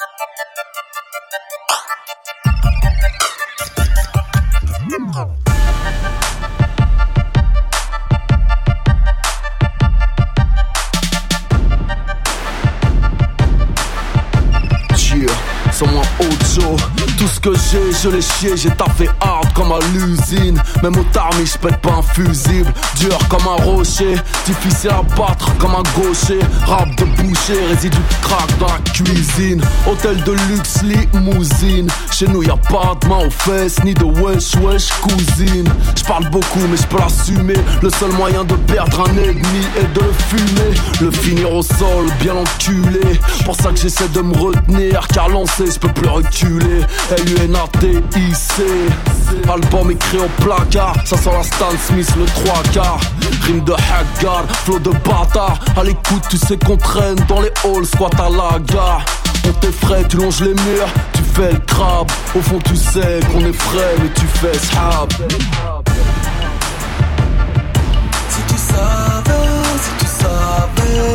Sans moi Ocho, tout ce que j'ai, je l'ai chié, j'ai taffé hard comme à l'usine. Même au tarmi, j'pète pas un fusible. Dur comme un rocher, difficile à battre comme un gaucher. Rap de boucher, résidu de crack dans la cuisine. Hôtel de luxe, limousine. Chez nous y'a pas de main aux fesses, ni de wesh wesh cousine. J'parle beaucoup mais j'peux l'assumer. Le seul moyen de perdre un ennemi est de le fumer. Le finir au sol, bien enculé. Pour ça que j'essaie de me retenir, car lancé j'peux plus reculer. LUNATIC, album écrit au placard. Ça sent la Stan Smith le 3/4. Rime de Haggard, flow de bâtard. À l'écoute tu sais qu'on traîne dans les halls, squat à la gare. On t'effraie, tu longes les murs, tu fais le crabe. Au fond tu sais qu'on est frais mais tu fais shab. Si tu savais, si tu savais.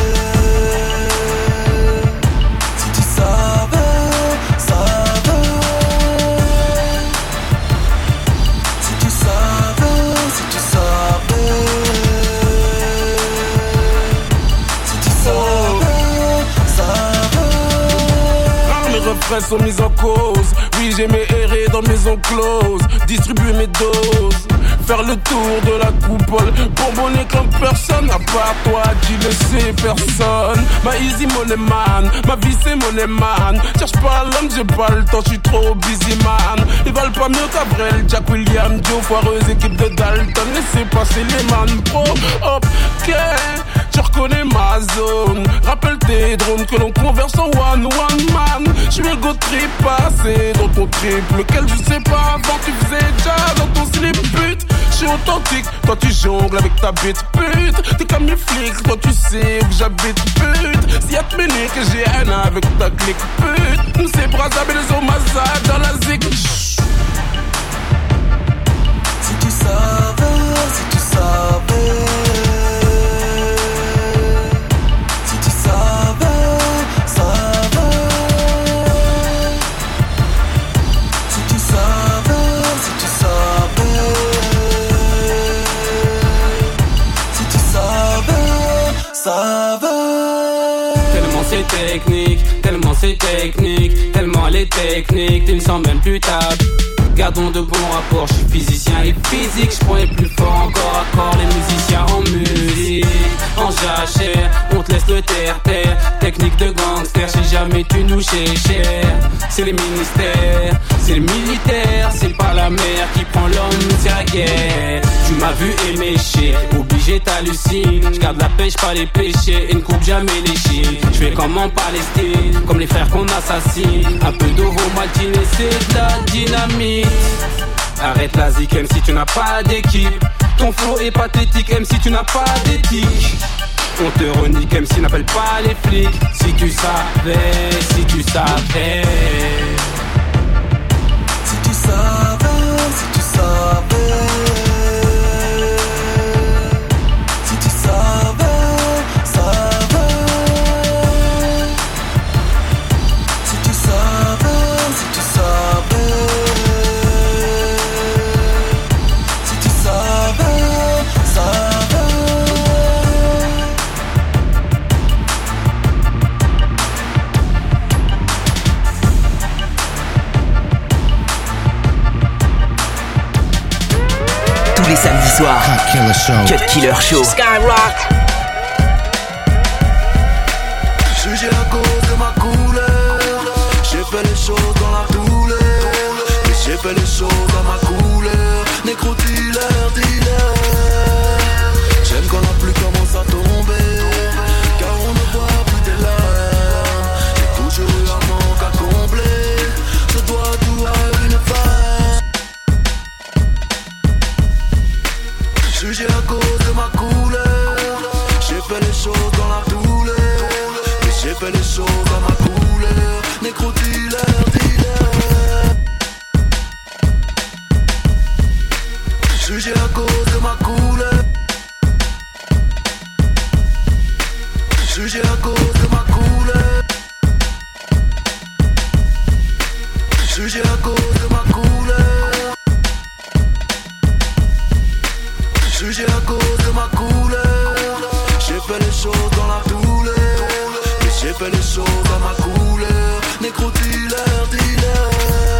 Refrains sont mis en cause. Oui, j'aimais errer dans maison close, distribuer mes doses, faire le tour de la coupole, bonbonner comme personne à part toi, tu le sais personne. Ma easy money man, ma vie c'est money man. Cherche pas l'homme, j'ai pas le temps, j'suis trop busy man. Ils valent pas mieux qu'Abrel, Jack William, Joe, foireuse équipe de Dalton. Laissez passer les man pro, ok. Tu reconnais ma zone. Rappelle tes drones que l'on converse en one man. J'suis le go trip passé dans ton trip, lequel je sais pas avant tu faisais déjà dans ton slip pute. J'suis authentique, toi tu jongles avec ta bite pute. T'es comme les flics, toi tu sais où j'habite pute. Si y'a te mener que j'ai un avec ta clique pute. Nous c'est Brazzaville et les Omaza dans la zig. Si tu savais, si tu savais. Tellement c'est technique, tellement c'est technique, tellement elle est technique, tu ne sens même plus ta. Gardons de bons rapports, je suis physicien et physique, je prends les plus forts encore à corps, les musiciens en musique, en jachère, on te laisse le terre-terre, technique de gangster, si jamais tu nous cher, c'est les ministères, c'est les militaires, c'est pas la mer qui prend l'homme, c'est la guerre. Tu m'as vu émécher, obligé t'hallucines, je garde la pêche pas les péchés, et ne coupe jamais les chiens. Je fais comme en Palestine, comme les frères qu'on assassine, un peu d'eau maltine et c'est de la dynamite. Arrête la zik, même si tu n'as pas d'équipe. Ton flow est pathétique, même si tu n'as pas d'éthique. On te renique, même si n'appelle pas les flics. Si tu savais, si tu savais. Si tu savais, si tu savais. Si tu savais, savais. Si tu savais, si tu savais. Si tu savais, savais. Tous les samedis soirs, Cut Killer Show. Skyrock. Jugé à cause de ma couleur, j'ai fait les choses dans la douleur. Mais j'ai fait les choses dans ma couleur. Négro dealer, dealer. J'aime quand la pluie commence à tomber, car on ne voit plus tes larmes. J'ai toujours eu un manque à combler, je dois tout à une femme. Jugé à cause de ma couleur, j'ai fait les choses dans la douleur. Mais j'ai fait les choses dans ma couleur. Négro dealer, dealer. Jugé à cause de ma couleur. Jugé à cause de ma couleur. Jugé à cause de ma couleur. Jugé à cause de ma couleur. J'ai fait les choses dans la douleur. Et j'ai fait les choses à ma couleur. Négro dealer, dealer.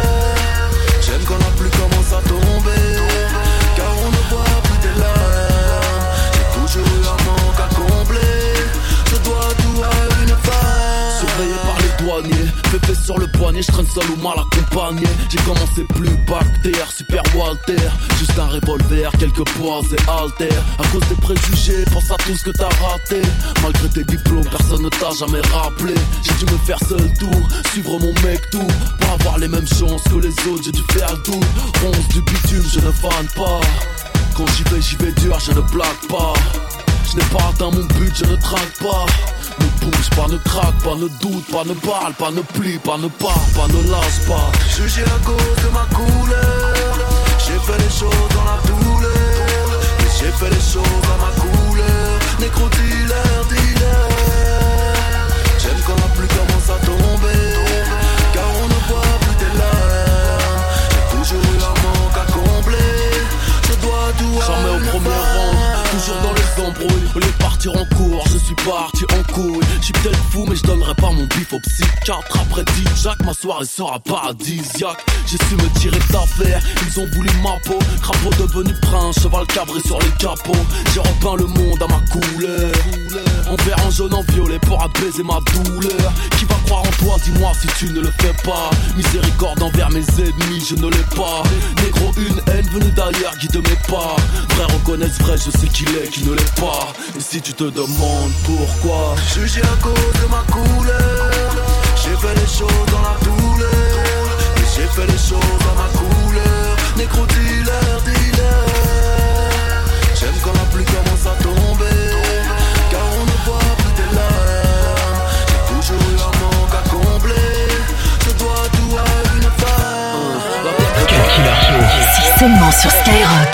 J'aime quand la pluie commence à tomber, car on ne voit plus tes larmes. J'ai toujours eu un manque à combler. Je dois tout à une femme. Surveillé par les douaniers, pépé sur le poignet, je traîne seul ou mal accompagné. J'ai commencé plus bactère, super Walter. Juste un revolver, quelques poids et haltères. À cause des préjugés, pense à tout ce que t'as raté. Malgré tes diplômes, personne ne t'a jamais rappelé. J'ai dû me faire seul tour, suivre mon mec tout. Pour avoir les mêmes chances que les autres, j'ai dû faire le tour. Ronce du bitume, je ne fane pas. Quand j'y vais dur, je ne blague pas. Je n'ai pas atteint mon but, je ne traque pas. Ne bouge pas, ne craque pas, ne doute pas, ne parle pas, ne plie pas, ne pars pas, ne lâche pas. Jugé à cause de ma couleur. J'ai fait les choses dans la douleur. Et j'ai fait les choses à ma couleur. Négro dealer, dealer. J'aime quand la pluie commence à tomber, car on ne voit plus tes larmes. J'ai toujours eu un manque à combler. Je dois tout à jamais au premier rang, toujours dans les embrouilles. Au lieu de partir en cours, je suis parti en couille. J'suis peut-être fou mais je donnerai pas mon bif au psychiatre. Après 10 Jacques, ma soirée sera paradisiaque. J'ai su me tirer d'affaire, ils ont voulu ma peau. Crapaud devenu prince, cheval cabré sur les capots. J'ai repeint le monde à ma couleur, en vert, en jaune, en violet pour apaiser ma douleur. Qui va croire en toi, dis-moi si tu ne le fais pas. Miséricorde envers mes ennemis, je ne l'ai pas. Négro, une haine venue d'ailleurs guide mes pas. Vrai reconnaissent vrai, je sais qu'il est, qui ne l'est pas. Et si tu te demandes pourquoi, jugé à cause de ma couleur. J'ai fait les choses dans la douleur. Et j'ai fait les choses à ma couleur. Négro dealer, dealer. J'aime quand la pluie commence à tomber, car on ne voit plus tes larmes. J'ai toujours eu un manque à combler. Je dois tout à une femme. Cut Killer Show. Si seulement sur Skyrock.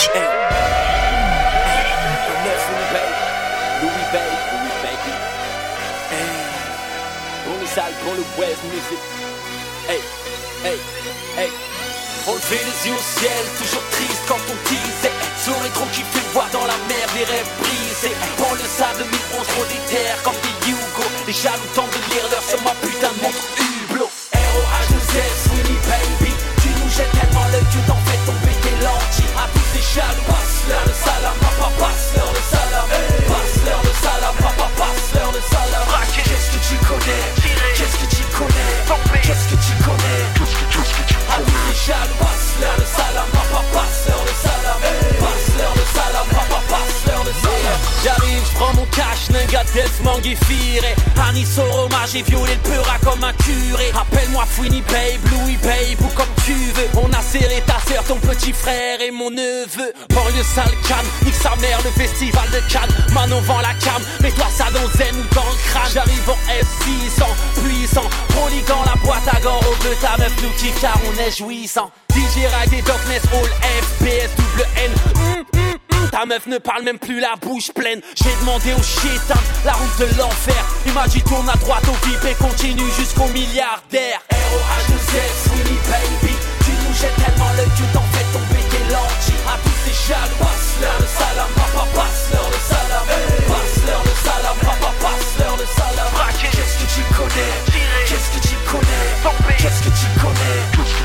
Pour le West Music. Hey, hey, hey. On levait les yeux au ciel, toujours triste quand on disait sur les troncs qui fait voir dans la mer des rêves brisés. Pour le sable 2011 trop des terres comme des Hugo. Les jaloux tentent de lire l'heure sur ma putain de montre Hublot. R.O.H.2.S, Winnie Baby. Tu nous jettes tellement l'œil que t'en fais tomber tes lentilles. À tous ces jaloux, passe-leur le salam, papa, passe-leur le salam. Passe-leur le salam, papa, passe-leur le salam. Qu'est-ce que tu connais? Qu'est-ce que tu connais? Qu'est-ce que tu connais? À tous les jaloux, passe-leur le salam, papa, passe-leur le salam. Passe-leur le salam, papa, passe-leur le salam. J'arrive, j'prends mon cash, Nenga, Death, Manguifire. Anis Soroma, j'ai violé le peura comme un curé. Appelle-moi Fouini Babe, Louis Babe ou comme tu veux. On a serré ta sœur, ton petit frère et mon neveu. Banlieue sale Cannes, nique sa mère, le festival de Cannes. Manon vend la cam, mets-toi ça dans zen ou dans le crâne. J'arrive en S600, puissant, proliquant la boîte à gants au bleu. Ta meuf nous kiffe car on est jouissant. DJ Ride et Darkness, All FPS, double N. Ta meuf ne parle même plus la bouche pleine. J'ai demandé au chétan la route de l'enfer. Il m'a dit tourne à droite au VIP et continue jusqu'au milliardaire. R.O.H.2.S, Winnie Baby. Tu nous jettes tellement l'œil que t'en fais tomber tes lentilles. À tous ces jaloux, passe-leur le salam, papa, passe-leur le salam. Passe-leur le salam, papa, passe-leur le salam. Qu'est-ce que tu connais? Qu'est-ce que tu connais? Qu'est-ce que tu connais?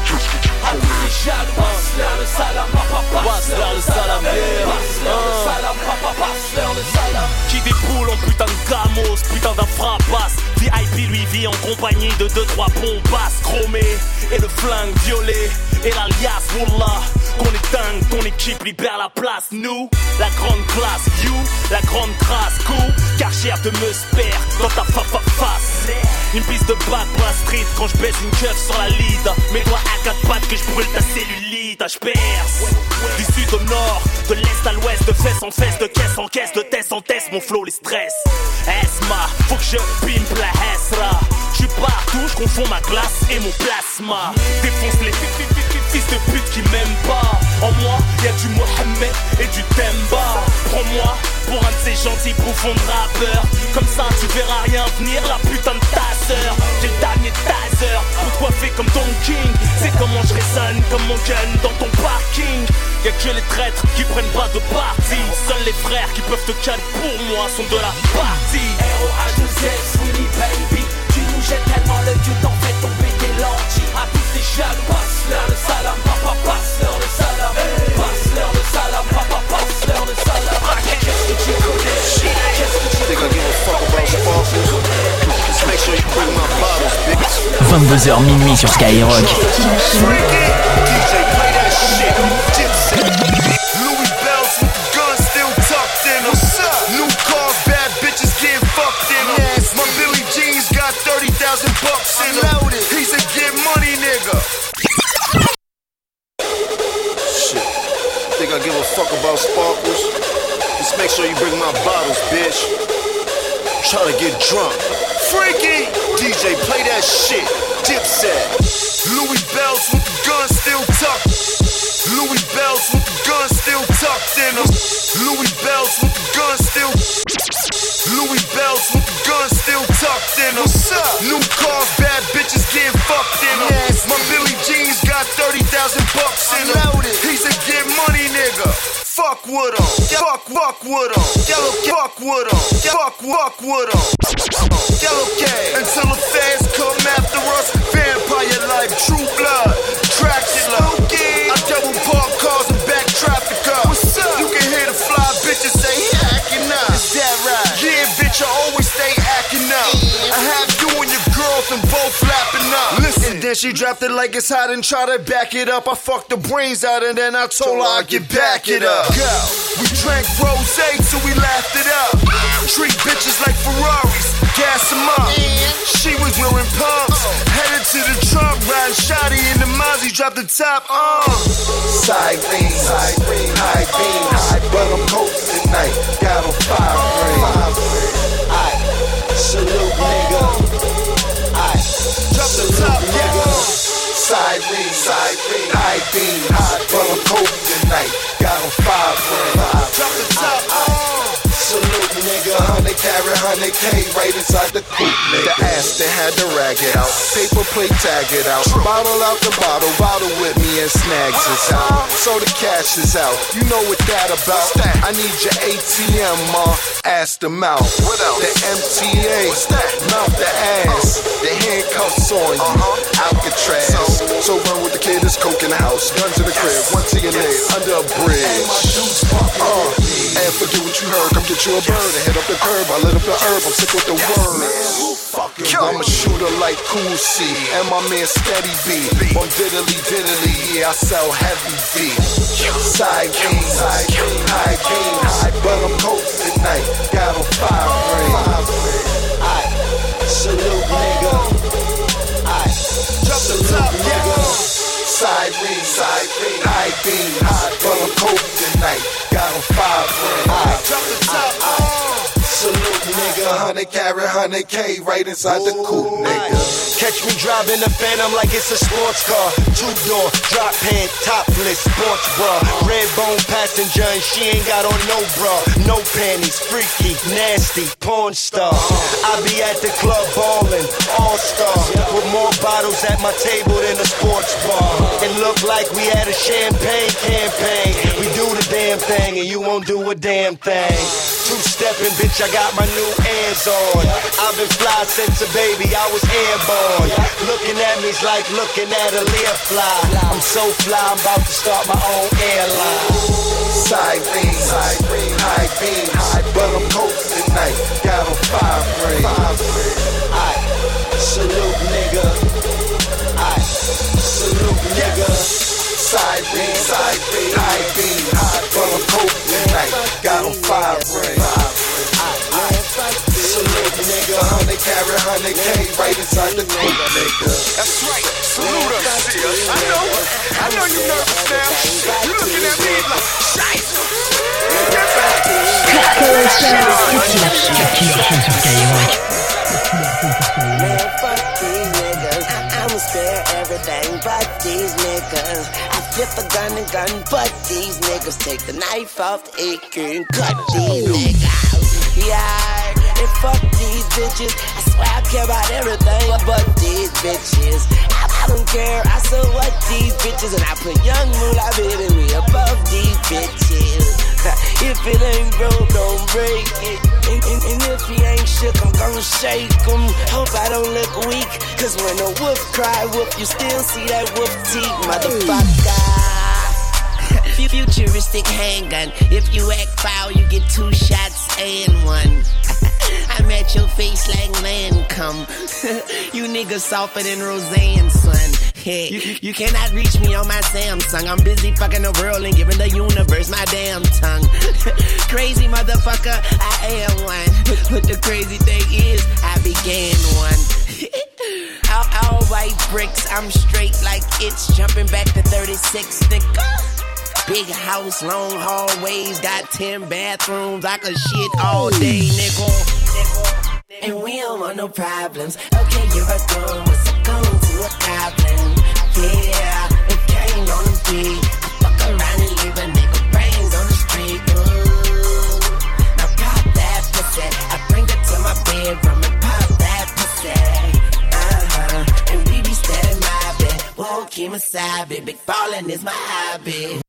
À tous ces jaloux, passe-leur le salam, papa, passe-leur le salam. Passe-leur le salam, papa, passe-leur le salam. Qui déboule en putain de gamos, putain d'un fracasse. VIP lui vit en compagnie de 2-3 bombasses chromées. Et le flingue violet, et l'alias Wallah. Qu'on est dingue, ton équipe libère la place. Nous, la grande classe, you, la grande trace. Cool, Karcher de Meusper dans ta face. Une piste de bac pour la street quand je baisse une keuf sur la lead. Mes doigts à 4 pattes que je brûle ta cellulite. Je perce du sud au nord, de l'est à l'ouest, de fesse en fesse, de caisse en caisse, de test en test, mon flow les stress. Esma, faut que je pimpe la Hesra. J'suis partout, j'confonds ma glace et mon plasma. Défonce les fils de pute qui m'aiment pas. En moi, y'a du Mohamed et du Temba. Prends-moi pour un de ces gentils bouffons de rappeurs. Comme ça tu verras rien venir, la putain de tasse. taser. J'ai le dernier taser pour te coiffer comme Don King. C'est comment je résonne comme mon gun dans ton parking. Y'a que les traîtres qui prennent pas de parti. Seuls les frères qui peuvent te caler pour moi sont de la partie. R.O.H.2.Z, Sweeney baby. Tu nous jettes tellement le Dieu t'en fais tomber tes lentilles. À tous les jaloux, passe-leur le salam, papa, passe-leur le salam. Passe-leur le salam, papa, passe-leur le salam. Qu'est-ce que tu connais? Qu'est-ce que tu Think I give a fuck about sparkles? Just make sure you bring my bottles, bitch. 22h minuit sur Skyrock. DJ, play that shit. Gypsy. Louis bells with the gun still tucked in them. New cars, bad bitches getting fucked in them. My Billy Jeans got 30,000 bucks in them. He's a get money nigga. Shit. Think I give a fuck about sparkles? Just make sure you bring my bottles, bitch. Try to get drunk. Freaky! DJ, play that shit. Dipset. Louis bells with the gun still tucked. Louis bells with the gun still tucked in them. Louis bells with the gun still. Louis bells with the gun still tucked in them. New cars, bad bitches getting fucked in them. My Billy Jeans got 30,000 bucks in them. He's a get money nigga. Fuck with him. Fuck with him. Fuck with him. Fuck with him. Yellow K. Until the fans come after us. Vampire life, true blood. Dracula. I double park cars and back traffic up. You can hear the fly bitches say he acting up. Is that right? Yeah, bitch, I always stay acting up. I have you and your girlfriend both flapping up. Listen. And then she dropped it like it's hot and try to back it up. I fucked the brains out and then I told her I'd get back it up. Go. We drank rosé till we laughed it up. Treat bitches like Ferraris, gas them up. She was wearing pumps, headed to the trunk, riding shotty in the Mozzie, dropped the top on. Side beam, high beam, but I'm cold tonight. Got on 5 rings. Salute nigga. Drop the top, nigga. Side beam, high beam, but I'm cold tonight. Got on 5 rings. Drop the top, salute nigga. 100 carat, 100K right inside the coupe, nigga. The ass that had to rag it out. Paper plate, tag it out. Bottle out the bottle, bottle with me and snags is out. So the cash is out. You know what that about? I need your ATM, ma. Ass the mouth. What else? The MTA. Mouth the ass. The handcuffs on you. Alcatraz. So run with the kid, there's coke in the house. Guns in the crib, one to your leg, under a bridge. And forget what you heard, come get you a bird and hit up the curb. I lit up the herb, I'm sick with the word. I'm a shooter like Cool C, and my man Steady B. On diddly, yeah, I sell heavy V. Side beam, high beam, but I'm cold tonight. Got on 5 rings. Salute nigga. Drop the top, nigga. Side beam, high beam, but I'm cold tonight. Got on 5 rings. Drop the top, salute nigga. 100 carat, 100K right inside the coupe, nigga. Catch me driving a Phantom like it's a sports car. 2-door, drop head, topless, sports bra. Red bone passenger and she ain't got on no bra. No panties, freaky, nasty, porn star. I be at the club ballin', all-star. With more bottles at my table than a sports bar. It look like we had a champagne campaign. We do the damn thing and you won't do a damn thing. Two-stepping, bitch, I got my new Airs on. I've been fly since a baby, I was airborne. Looking at me's like looking at a Learfly. I'm so fly, I'm about to start my own airline. Side beam, high beam, but I'm cold tonight. Got on 5 rings. Salute nigga. Salute nigga. Side beam, high beam, but I'm cold tonight. Got on 5 rings. Salute nigga, 100 carat, 100K right inside the coupe, nigga. That's right, salute us, I know you nervous now. You looking at me like, shite. Get back. Man, fuck these niggas. I'ma spare everything but these niggas. I flip a gun, but these niggas take the knife off the AK and cut these niggas. Yeah, and fuck these these bitches. I swear I care about everything but these bitches. I don't care, I so what these bitches. And I put young moolah baby way above these bitches. If it ain't broke, don't break it. And if he ain't shook, I'm gonna shake him. Hope I don't look weak, cause when a wolf cry wolf, you still see that wolf teeth, motherfucker. Futuristic handgun. If you act foul, you get 2 shots and 1. I'm at your face like Lancome. You niggas softer than Roseanne, son. Hey, you cannot reach me on my Samsung. I'm busy fucking the world and giving the universe my damn tongue. Crazy motherfucker, I am one. But the crazy thing is, I began one. all white bricks, I'm straight like it's jumping back to 36, nigga. Big house, long hallways, got 10 bathrooms. I could shit all day, nigga. And we don't want no problems. Okay, you're a gun, what's a gun to a goblin? Yeah, it came on the beat. I fuck around and leave a nigga brains on the street. Ooh, now pop that pussy. I bring it to my bedroom and pop that pussy. And we be steady mobbing. Won't keep my side, big ballin' is my hobby.